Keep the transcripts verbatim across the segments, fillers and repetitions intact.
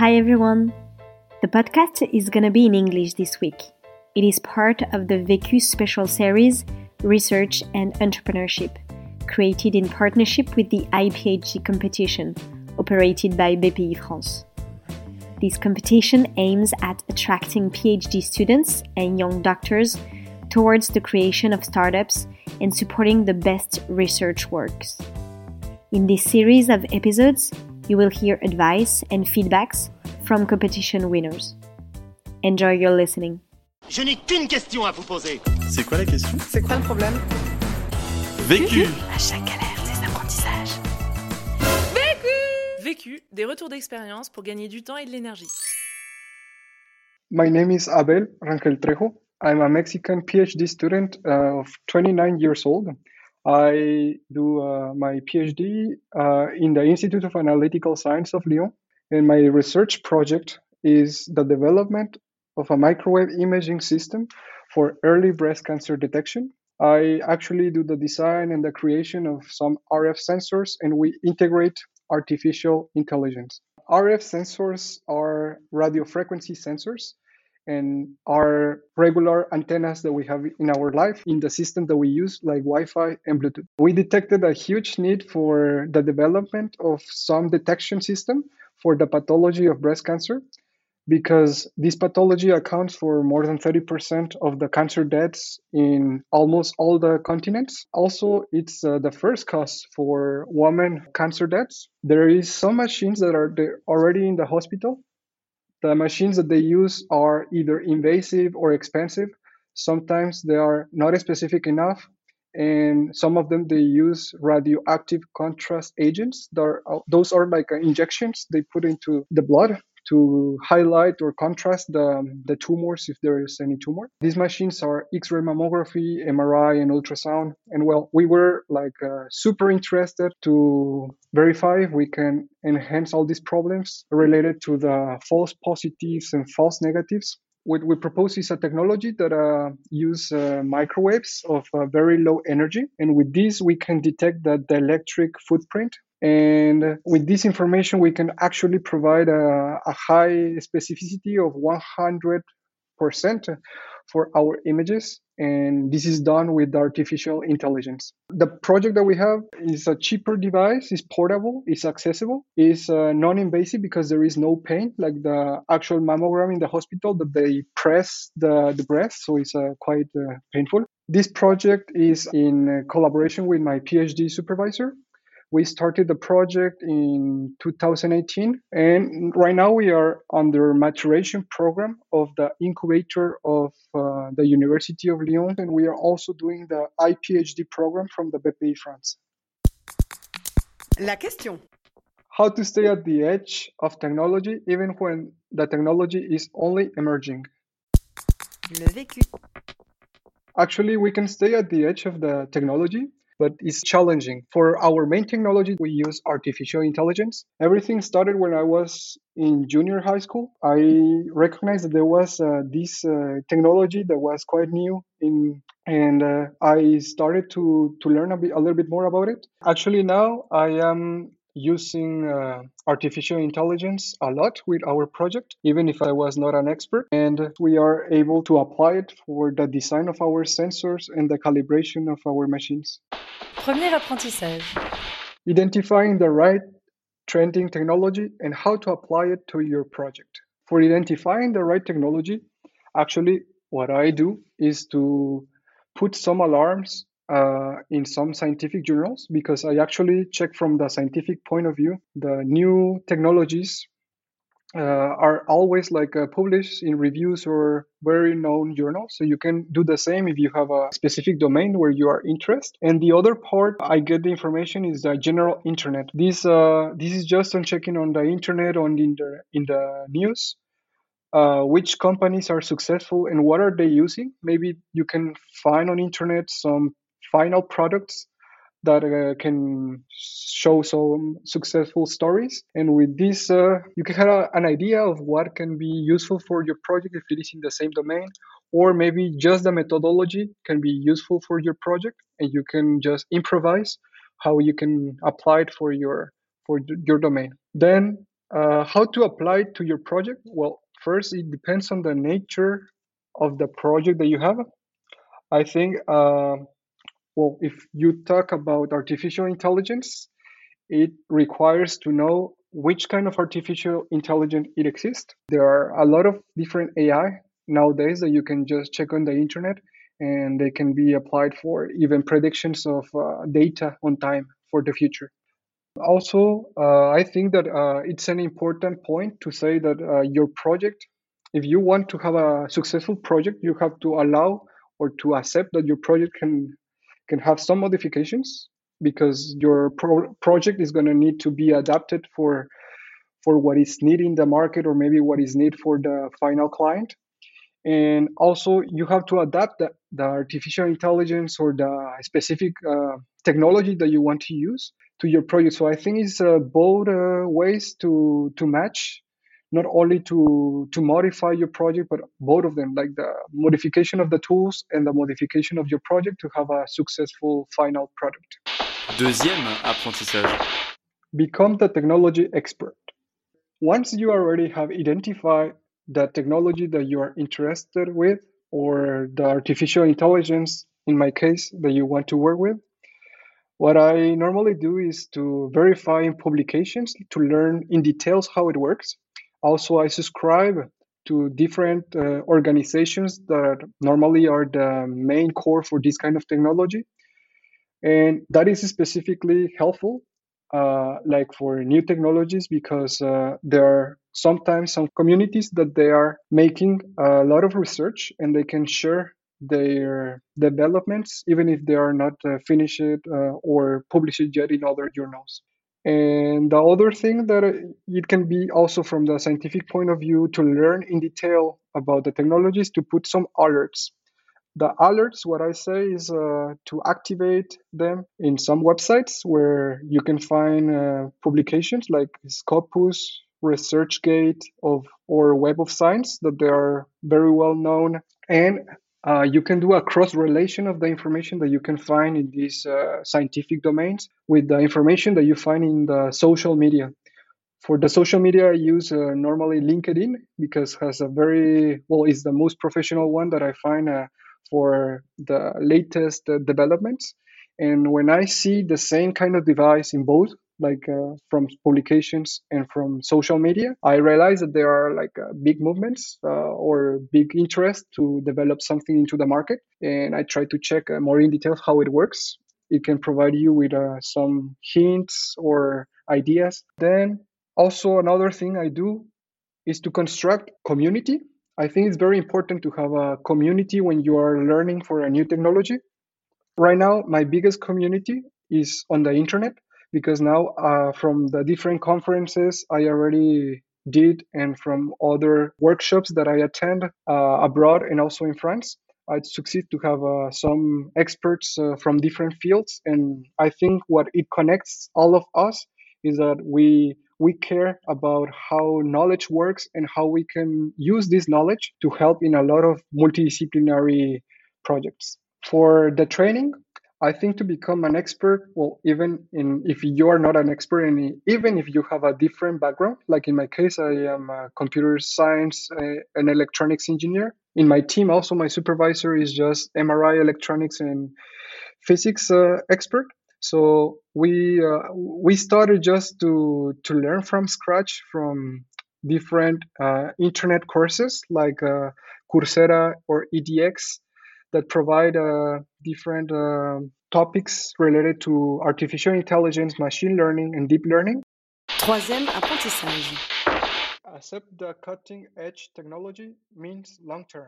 Hi everyone! The podcast is gonna be in English this week. It is part of the Vécu special series, Research and Entrepreneurship, created in partnership with the I P H D competition, operated by B P I France. This competition aims at attracting PhD students and young doctors towards the creation of startups and supporting the best research works. In this series of episodes, you will hear advice and feedbacks from competition winners. Enjoy your listening. Je n'ai qu'une question à vous poser. C'est quoi la question? C'est quoi le problème? Vécu. À chaque galère, des apprentissages. Vécu Vécu, des retours d'expérience pour gagner du temps et de l'énergie. My name is Abel Rangel Trejo. I'm a Mexican PhD student uh, of twenty-nine years old. I do uh, my PhD uh, in the Institute of Analytical Science of Lyon, and my research project is the development of a microwave imaging system for early breast cancer detection. I actually do the design and the creation of some R F sensors, and we integrate artificial intelligence. R F sensors are radio frequency sensors and are regular antennas that we have in our life in the system that we use, like Wi-Fi and Bluetooth. We detected a huge need for the development of some detection system for the pathology of breast cancer, because this pathology accounts for more than thirty percent of the cancer deaths in almost all the continents. Also, it's uh, the first cause for women cancer deaths. There is some machines that are there already in the hospital. The machines that they use are either invasive or expensive. Sometimes they are not specific enough, and some of them they use radioactive contrast agents. That are, those are like injections they put into the blood to highlight or contrast the, the tumors if there is any tumor. These machines are X-ray mammography, M R I, and ultrasound. And well, we were like uh, super interested to verify if we can enhance all these problems related to the false positives and false negatives. What we propose is a technology that uh, use uh, microwaves of uh, very low energy. And with this, we can detect the dielectric footprint. And with this information, we can actually provide a, a high specificity of one hundred percent for our images. And this is done with artificial intelligence. The project that we have is a cheaper device, is portable, is accessible, is uh, non-invasive because there is no pain, like the actual mammogram in the hospital that they press the, the breast. So it's uh, quite uh, painful. This project is in collaboration with my PhD supervisor. We started the project in two thousand eighteen, and right now we are under maturation program of the incubator of uh, the University of Lyon, and we are also doing the I P H D program from the B P I France. La question. How to stay at the edge of technology even when the technology is only emerging. Le vécu. Actually, we can stay at the edge of the technology, but it's challenging. For our main technology, we use artificial intelligence. Everything started when I was in junior high school. I recognized that there was uh, this uh, technology that was quite new, in, and uh, I started to, to learn a, bit, a little bit more about it. Actually, now I am using uh, artificial intelligence a lot with our project, even if I was not an expert. And we are able to apply it for the design of our sensors and the calibration of our machines. Premier apprentissage. Identifying the right trending technology and how to apply it to your project. For identifying the right technology, actually what I do is to put some alarms uh, in some scientific journals, because I actually check from the scientific point of view. The new technologies uh, are always like uh, published in reviews or very known journals. So you can do the same if you have a specific domain where you are interested. And the other part I get the information is the general internet. This uh, this is just on checking on the internet, on the, in the in the news. Uh, which companies are successful and what are they using? Maybe you can find on internet some final products that uh, can show some successful stories. And with this, uh, you can have a, an idea of what can be useful for your project if it is in the same domain, or maybe just the methodology can be useful for your project, and you can just improvise how you can apply it for your for your domain. Then Uh, how to apply it to your project? Well, first, it depends on the nature of the project that you have. I think, uh, well, if you talk about artificial intelligence, it requires to know which kind of artificial intelligence it exists. There are a lot of different A I nowadays that you can just check on the internet, and they can be applied for even predictions of uh, data on time for the future. Also, uh, I think that uh, it's an important point to say that uh, your project, if you want to have a successful project, you have to allow or to accept that your project can can have some modifications, because your pro- project is going to need to be adapted for for what is needed in the market, or maybe what is needed for the final client. And also, you have to adapt the, the artificial intelligence or the specific uh, technology that you want to use to your project. So I think it's uh, both uh, ways to to match, not only to to modify your project, but both of them, like the modification of the tools and the modification of your project to have a successful final product. Deuxième apprentissage. Become the technology expert. Once you already have identified the technology that you are interested with, or the artificial intelligence, in my case, that you want to work with, what I normally do is to verify in publications to learn in details how it works. Also, I subscribe to different uh, organizations that normally are the main core for this kind of technology. And that is specifically helpful, uh, like for new technologies, because uh, there are sometimes some communities that they are making a lot of research, and they can share their developments even if they are not uh, finished uh, or published yet in other journals. And the other thing that uh, it can be also from the scientific point of view, to learn in detail about the technologies, to put some alerts. The alerts, what I say is uh, to activate them in some websites where you can find uh, publications like Scopus, ResearchGate, of or Web of Science, that they are very well known. And uh, you can do a cross relation of the information that you can find in these uh, scientific domains with the information that you find in the social media. For the social media, I use uh, normally LinkedIn, because has a very well, is the most professional one that I find uh, for the latest uh, developments. And when I see the same kind of device in both, like uh, from publications and from social media, I realize that there are like uh, big movements uh, or big interest to develop something into the market. And I try to check uh, more in detail how it works. It can provide you with uh, some hints or ideas. Then also, another thing I do is to construct community. I think it's very important to have a community when you are learning for a new technology. Right now, my biggest community is on the internet, because now uh, from the different conferences I already did, and from other workshops that I attend uh, abroad and also in France, I succeed to have uh, some experts uh, from different fields. And I think what it connects all of us is that we we care about how knowledge works and how we can use this knowledge to help in a lot of multidisciplinary projects. For the training, I think to become an expert, well, even in if you are not an expert, and even if you have a different background, like in my case, I am a computer science uh, and electronics engineer. In my team, also my supervisor is just M R I electronics and physics uh, expert. So we uh, we started just to to learn from scratch from different uh, internet courses like uh, Coursera or E D X, that provide uh, different uh, topics related to artificial intelligence, machine learning, and deep learning. Troisième apprentissage. Accept the cutting edge technology means long term.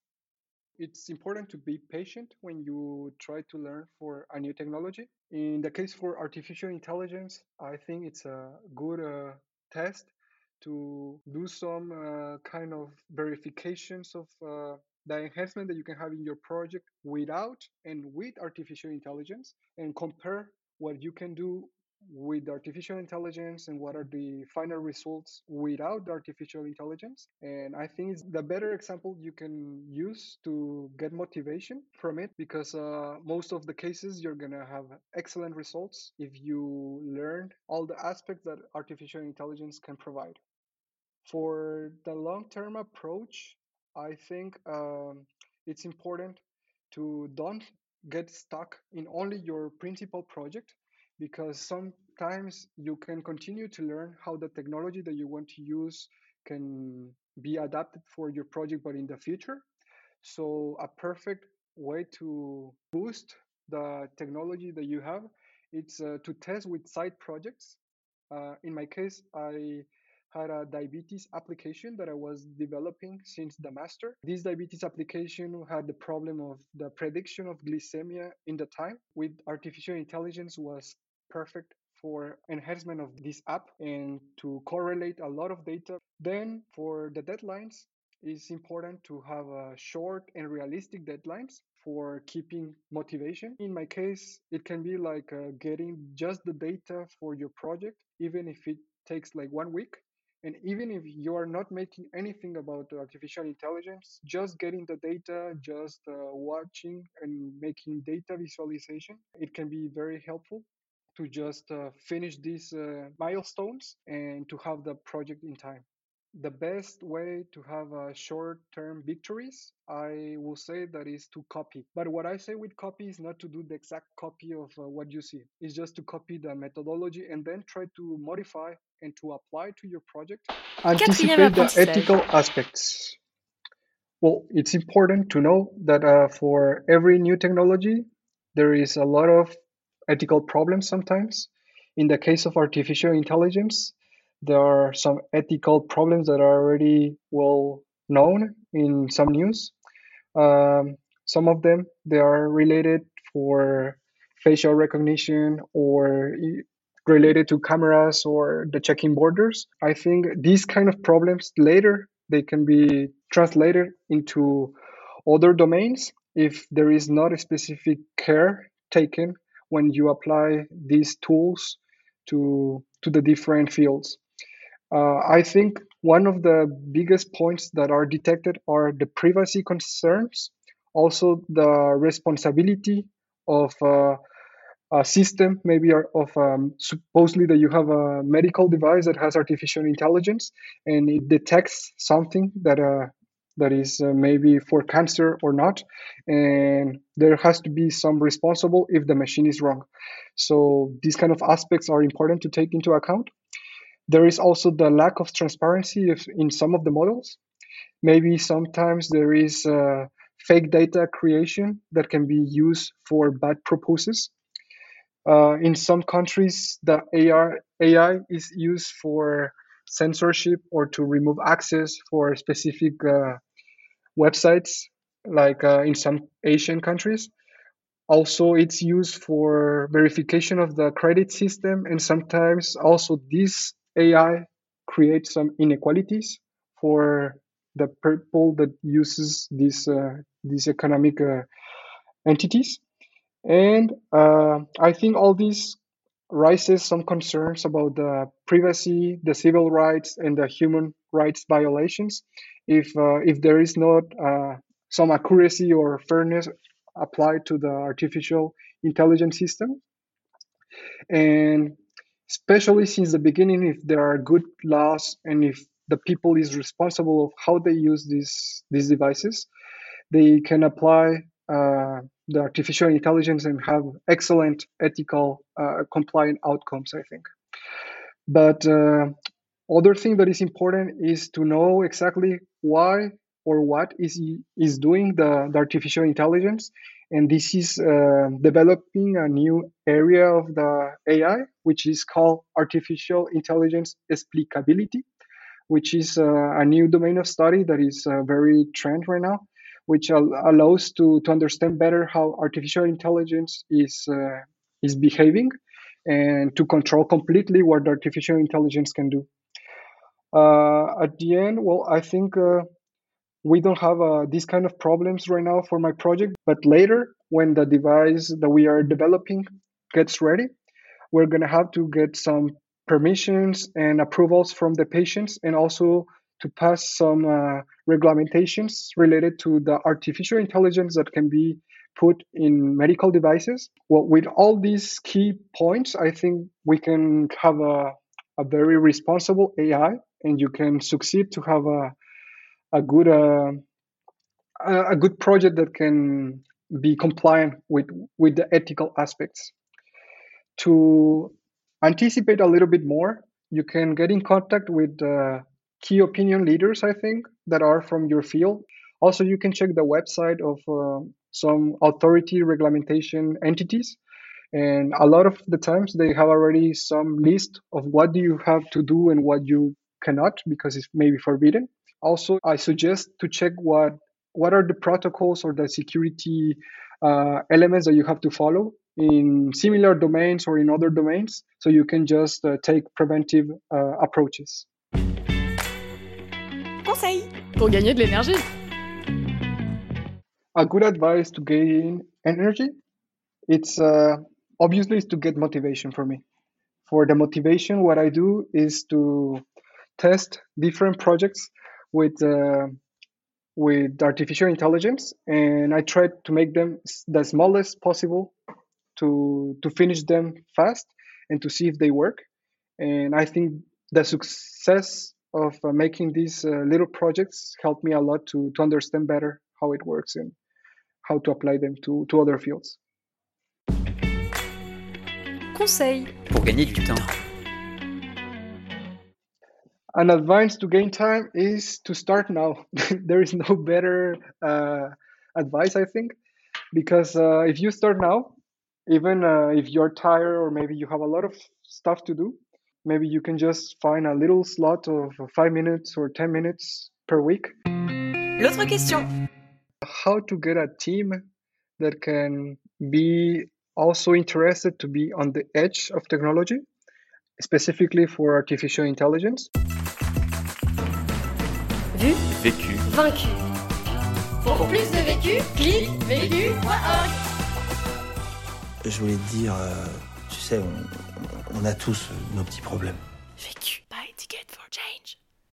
It's important to be patient when you try to learn for a new technology. In the case for artificial intelligence, I think it's a good uh, test to do some uh, kind of verifications of uh, the enhancement that you can have in your project without and with artificial intelligence, and compare what you can do with artificial intelligence and what are the final results without the artificial intelligence. And I think it's the better example you can use to get motivation from it, because uh, most of the cases you're gonna have excellent results if you learn all the aspects that artificial intelligence can provide. For the long term approach, I think um, it's important to don't get stuck in only your principal project, because sometimes you can continue to learn how the technology that you want to use can be adapted for your project, but in the future. So, a perfect way to boost the technology that you have, it's uh, to test with side projects. Uh, in my case, I had a diabetes application that I was developing since the master. This diabetes application had the problem of the prediction of glycemia in the time. With artificial intelligence was perfect for enhancement of this app and to correlate a lot of data. Then for the deadlines, it's important to have a short and realistic deadlines for keeping motivation. In my case, it can be like uh, getting just the data for your project, even if it takes like one week. And even if you are not making anything about artificial intelligence, just getting the data, just uh, watching and making data visualization, it can be very helpful to just uh, finish these uh, milestones and to have the project in time. The best way to have uh, short-term victories, I will say that is to copy. But what I say with copy is not to do the exact copy of uh, what you see. It's just to copy the methodology and then try to modify and to apply to your project. Quatrième Anticipate the apprentissage. ethical aspects. Well, it's important to know that uh, for every new technology, there is a lot of ethical problems sometimes. In the case of artificial intelligence, there are some ethical problems that are already well known in some news. Um, some of them they are related for facial recognition or i- related to cameras or the checking borders. I think these kind of problems later they can be translated into other domains if there is not a specific care taken when you apply these tools to to the different fields. Uh, I think one of the biggest points that are detected are the privacy concerns, also the responsibility of uh, a system, maybe are- of um, supposedly that you have a medical device that has artificial intelligence and it detects something that uh, that is uh, maybe for cancer or not, and there has to be some responsible if the machine is wrong. So these kind of aspects are important to take into account. There is also the lack of transparency if, in some of the models. Maybe sometimes there is uh, fake data creation that can be used for bad purposes. Uh, in some countries, the A I, A I is used for censorship or to remove access for specific uh, websites, like uh, in some Asian countries. Also, it's used for verification of the credit system, and sometimes also this A I creates some inequalities for the people that uses these uh, these economic uh, entities. And uh, I think all this raises some concerns about the privacy, the civil rights, and the human rights violations. If uh, if there is not uh, some accuracy or fairness applied to the artificial intelligence system, and especially since the beginning, if there are good laws and if the people is responsible of how they use these these devices, they can apply uh, the artificial intelligence and have excellent ethical uh, compliant outcomes, I think. But uh, other thing that is important is to know exactly why or what is is doing the, the artificial intelligence, and this is uh, developing a new area of the A I, which is called artificial intelligence explicability, which is uh, a new domain of study that is uh, very trend right now, which al- allows to, to understand better how artificial intelligence is uh, is behaving and to control completely what artificial intelligence can do. Uh, at the end, well, I think uh, we don't have uh, these kind of problems right now for my project, but later, when the device that we are developing gets ready, we're going to have to get some permissions and approvals from the patients, and also to pass some uh, regulations related to the artificial intelligence that can be put in medical devices. Well, with all these key points, I think we can have a, a very responsible A I, and you can succeed to have a a good uh, a good project that can be compliant with with the ethical aspects. To anticipate a little bit more, you can get in contact with uh, key opinion leaders, I think, that are from your field. Also, you can check the website of uh, some authority regulation entities. And a lot of the times they have already some list of what do you have to do and what you cannot, because it's maybe forbidden. Also, I suggest to check what what are the protocols or the security uh, elements that you have to follow in similar domains or in other domains, so you can just uh, take preventive uh, approaches. Conseil pour gagner de l'énergie. A good advice to gain energy, it's uh, obviously is to get motivation for me. For the motivation, what I do is to test different projects with uh, with artificial intelligence, and I try to make them the smallest possible to to finish them fast and to see if they work. And I think the success of uh, making these uh, little projects helped me a lot to to understand better how it works and how to apply them to, to other fields. Conseil pour gagner du temps. An advice to gain time is to start now. There is no better uh, advice, I think, because uh, if you start now, even uh, if you're tired or maybe you have a lot of stuff to do, maybe you can just find a little slot of five minutes or ten minutes per week. L'autre question. How to get a team that can be also interested to be on the edge of technology, specifically for artificial intelligence. Vu, Vécu. vaincu. Pour plus de vécu, clique vécu point org. Je voulais te dire, euh, tu sais, on, on a tous nos petits problèmes. Vécu.